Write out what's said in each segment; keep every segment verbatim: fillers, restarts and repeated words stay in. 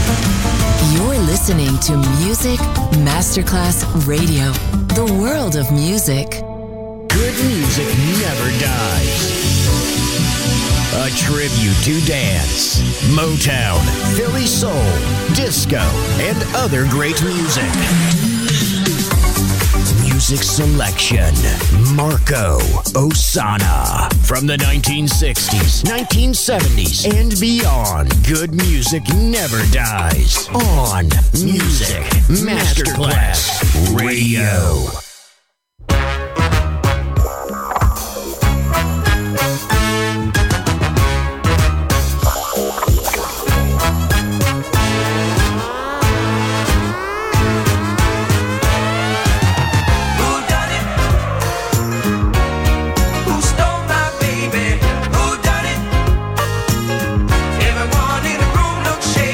You're listening to Music Masterclass Radio, the world of music. Good music never dies. A tribute to dance, Motown, Philly soul, disco, and other great music. Music selection, Marco Ossanna. From the nineteen sixties, nineteen seventies, and beyond, good music never dies. On Music Masterclass Radio.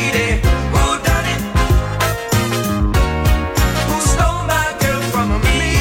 Who stole my girl from me?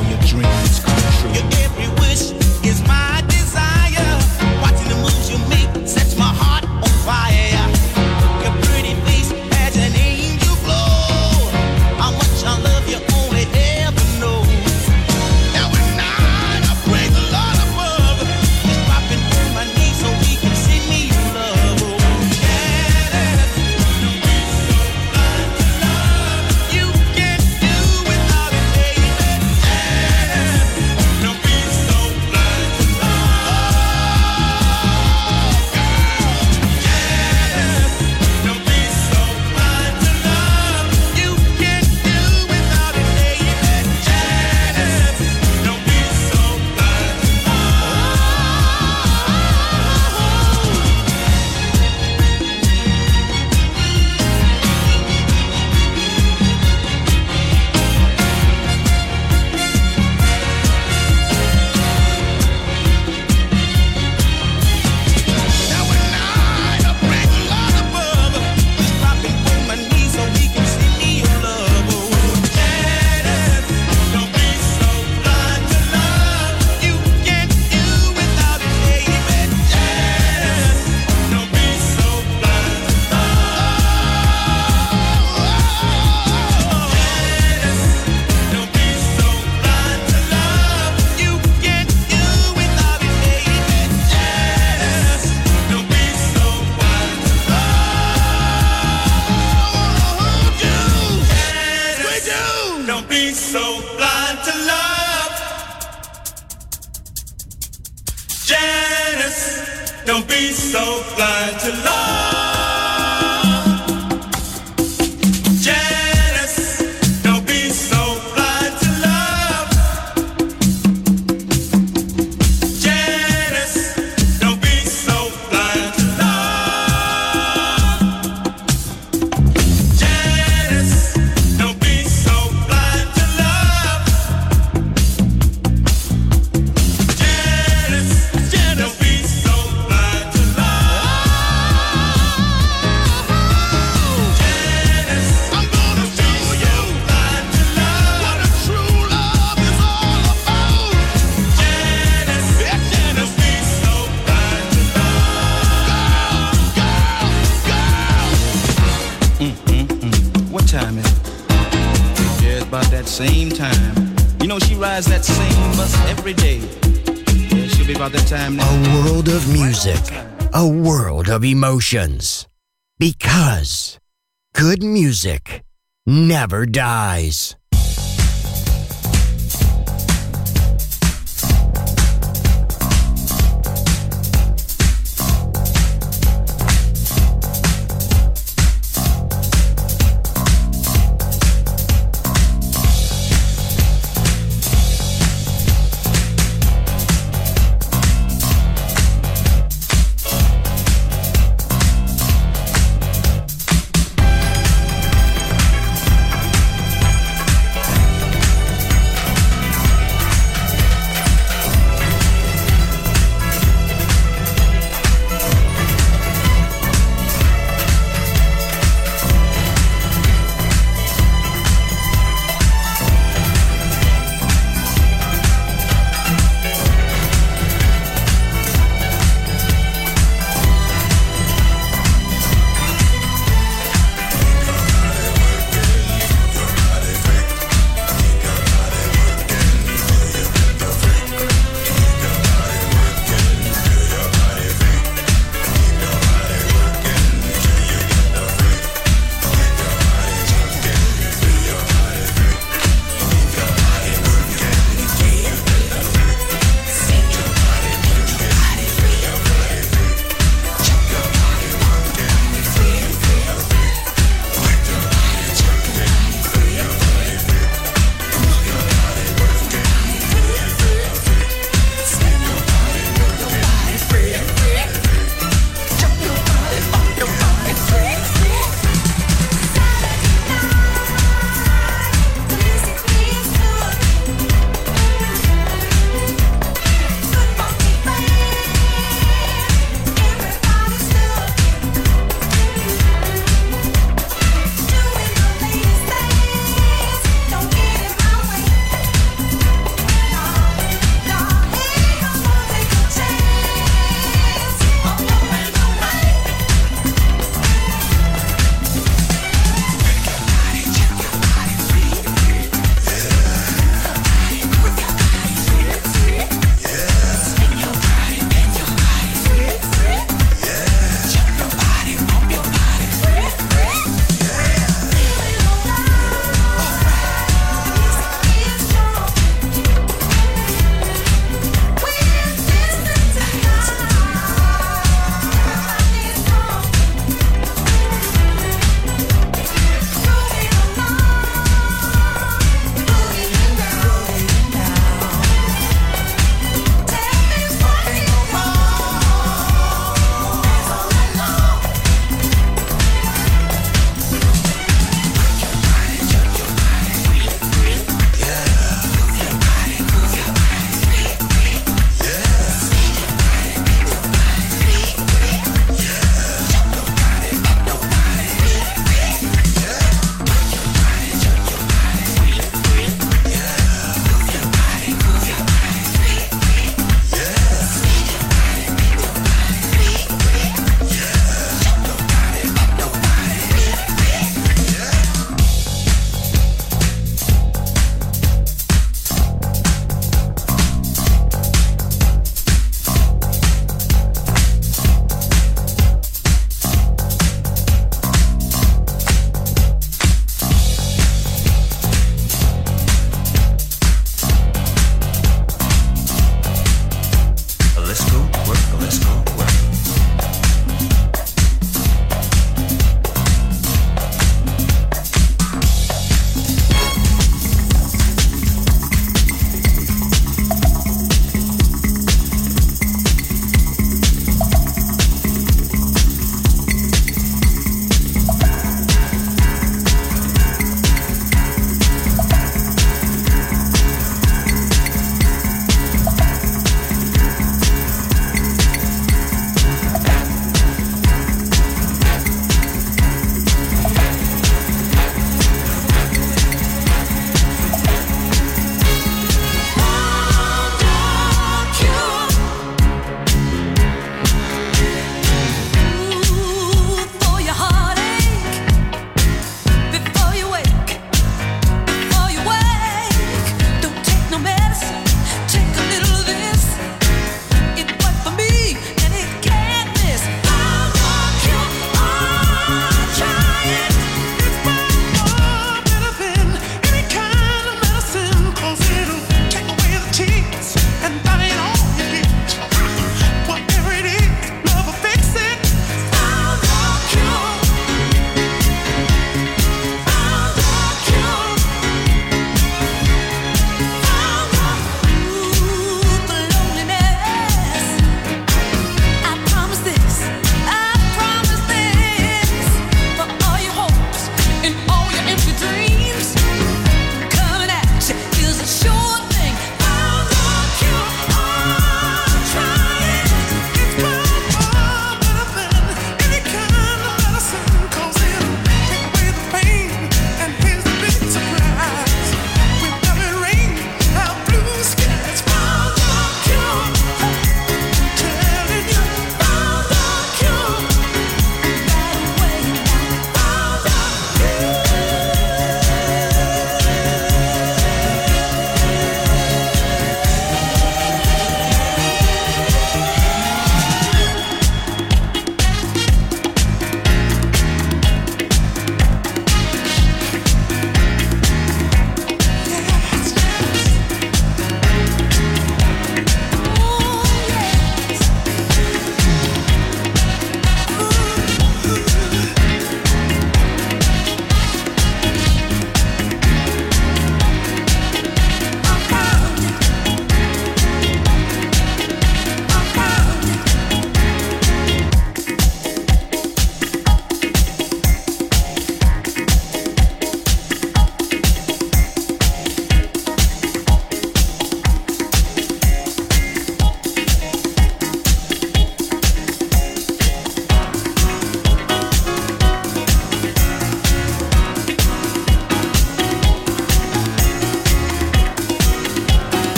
all your dreams come true. Your every wish is my desire. Watching the moves you make sets my heart on fire. Your pretty face has an angel glow. How much I love you only ever know. Now at night I pray the Lord above, just dropping on my knees so He can send me your love. Oh, yeah, don't be so blind to love. You can't do without it, baby. Yeah, don't be so blind to love. Girl, yeah, don't be so blind to love. You can't do without it, baby. Yeah, don't be so blind to Now at night I pray the Lord above, just dropping on my knees so He can send me your love. Oh, yeah, don't be so blind to love. You can't do without it, baby. Yeah, don't be so blind to love. Don't be so blind to love. You can't do without it, baby. Yes, don't be so blind to love. You, yes, don't be so blind to love. Janice, don't be so blind to love. Janice, don't be so blind to love. Janice, don't be so blind to love. Janice, don't be so blind to love. Janice, don't be so blind to love. Janice, I'm gonna show you blind to love what a true love is all about. Janice, Janice, be so blind to love. Girl, girl, girl. What time is it? Yeah, it's about that same time. You know, she rides that same bus every day. Yeah, she'll be about that time now. A world of music, a world of emotions. Because good music never dies.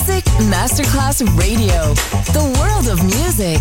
Music Masterclass Radio. The world of music.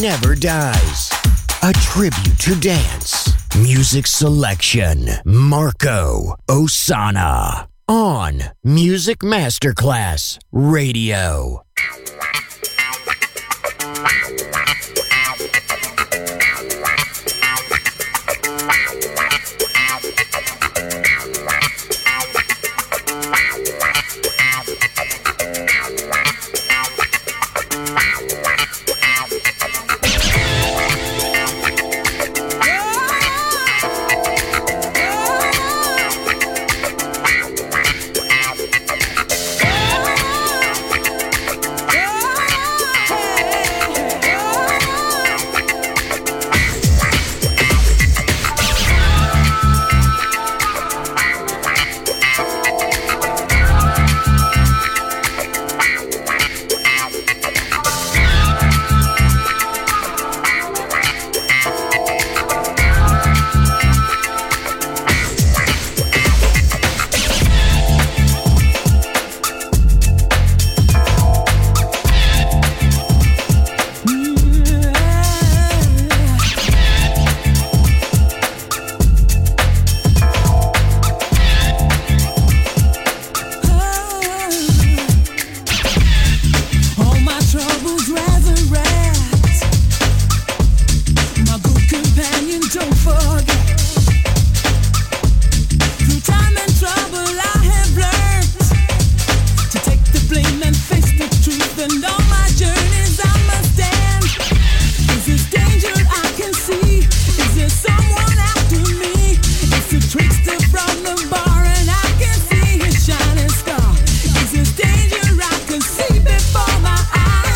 never dies. A tribute to dance. Music selection. Marco Ossanna. On Music Masterclass Radio.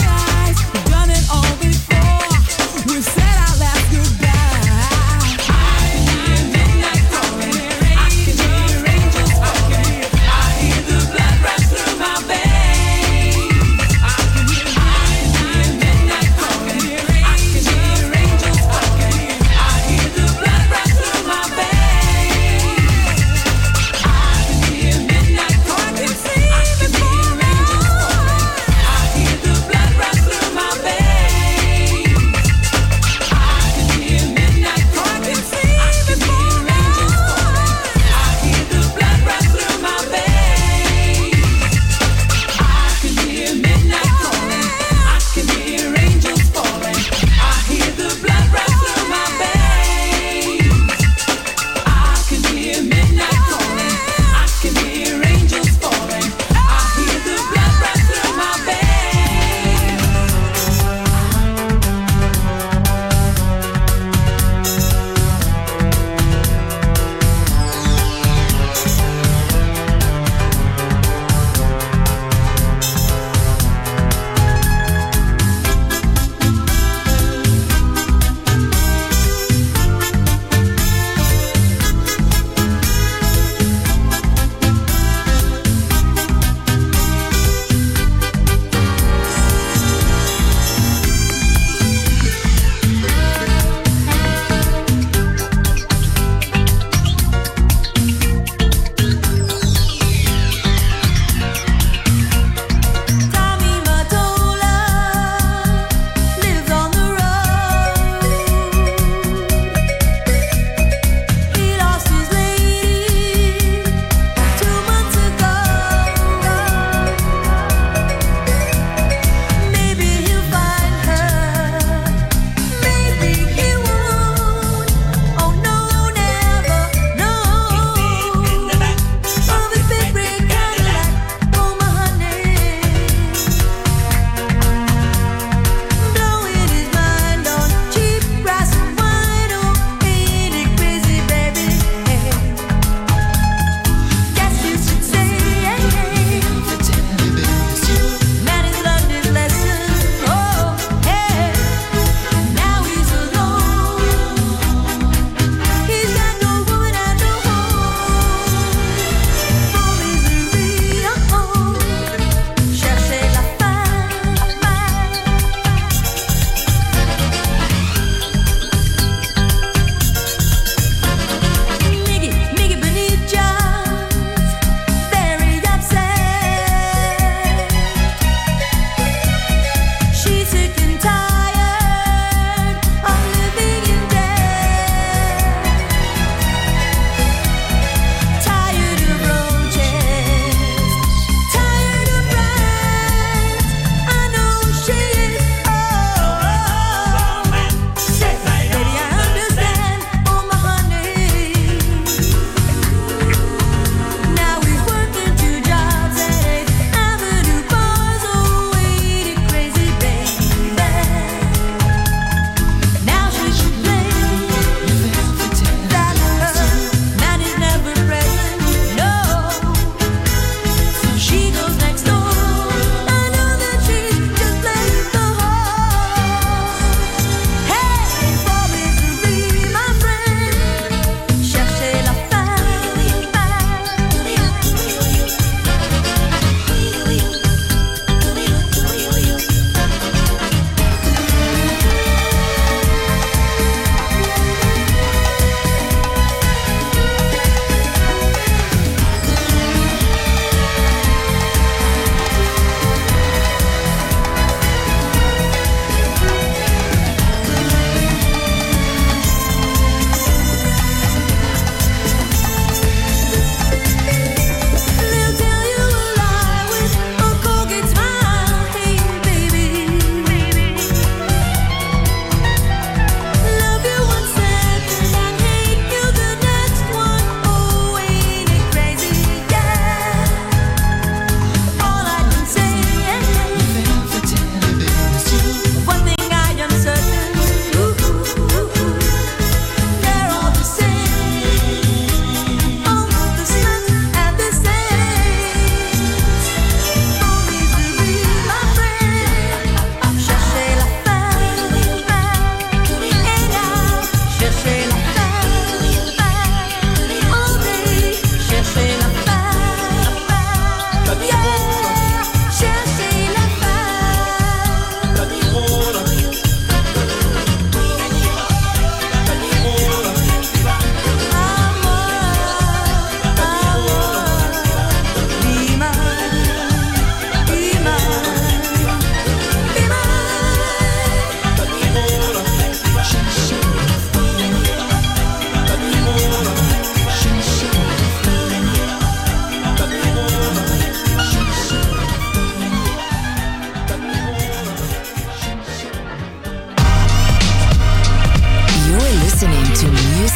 We've said our last goodbye.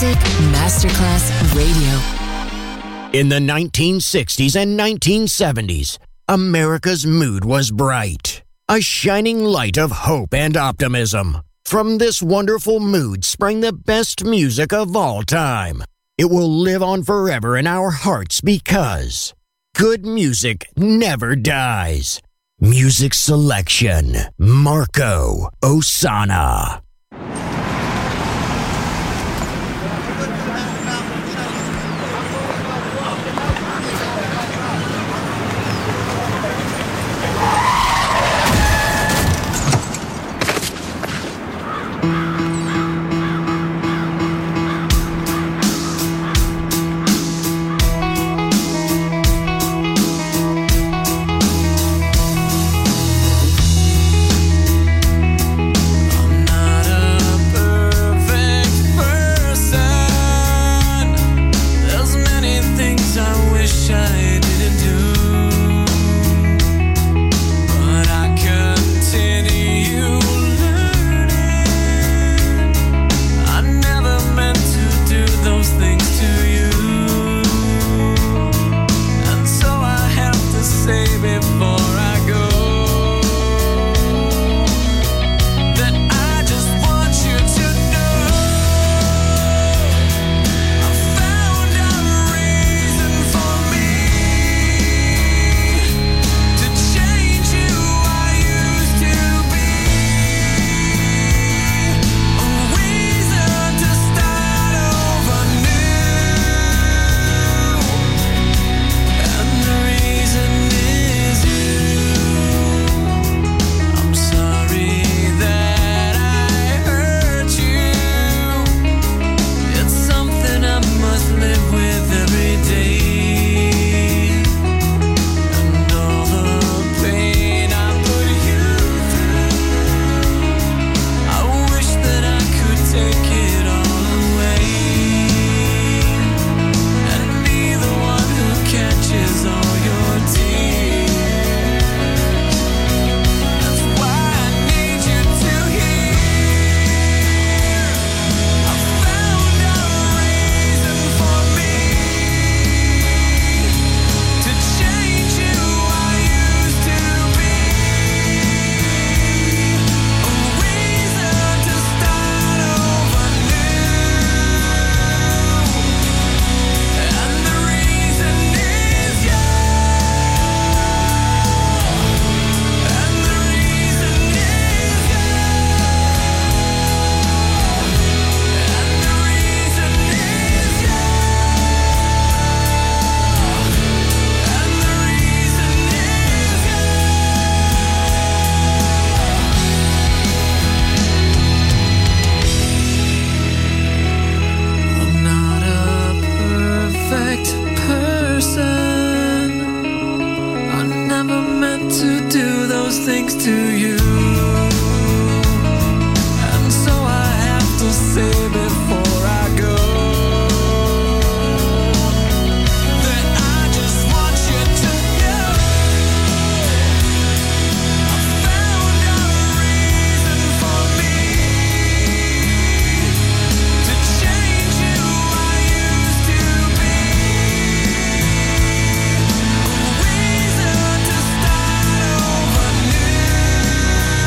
Music Masterclass Radio. In the nineteen sixties and nineteen seventies, America's mood was bright, a shining light of hope and optimism. From this wonderful mood sprang the best music of all time. It will live on forever in our hearts because good music never dies. Music selection, Marco Ossanna. Over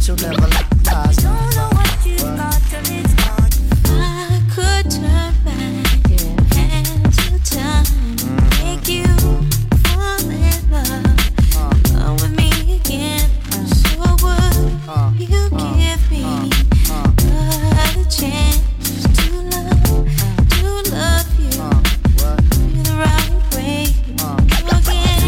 Mitchell never lies. Don't know what you got till it's gone. I could turn back and to time, make you fall in love, come with me again. So would you give me another chance to love, to love you, feel the right way again?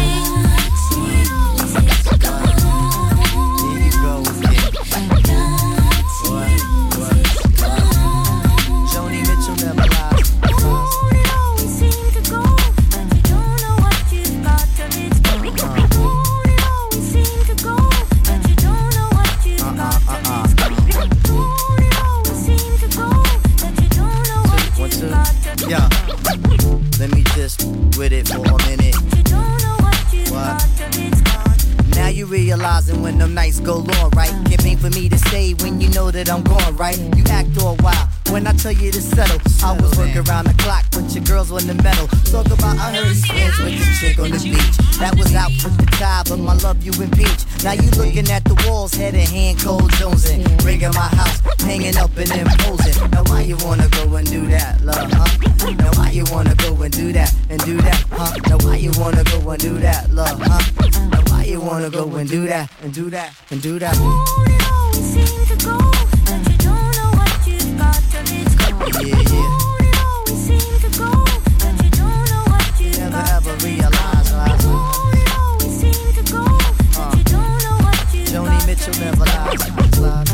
Yeah, let me just with it for a minute. What? Now you realizing when them nights go long, right? Can't wait for me to stay when you know that I'm gone, right? You act all wild when I tell you to settle. I was working around the clock, but your girls on the metal. Talk about I heard he's friends with the chick on the beach. That was out with the tie, but my love you impeach. Now you looking at the walls, head in hand, cold jonesing. Rigging my house, hanging up and imposing. Now why you wanna go and do that, love, huh? Now why you wanna go and do that, and do that, huh? Now why you wanna go and do that, love, huh? Now why you wanna go and do that, and do that, and do that? It always seems to go, but you don't know what you've got till it's gone. Yeah, yeah. It always seems to go, but you don't know what you've Never got ever till it's realize, gone. lies. It always seems to go, but you don't know what you've Joni got Mitchell till never it's lies, gone. lies.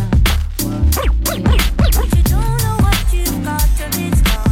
But you don't know what you've got till it's gone.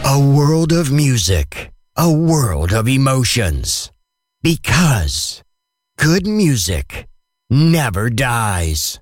A world of music, a world of emotions. Because good music never dies.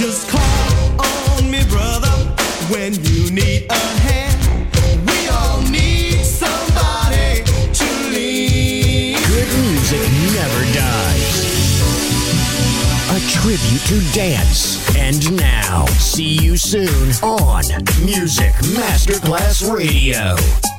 Just call on me, brother, when you need a hand. We all need somebody to lean. Good music never dies. A tribute to dance. And now, see you soon on Music Masterclass Radio.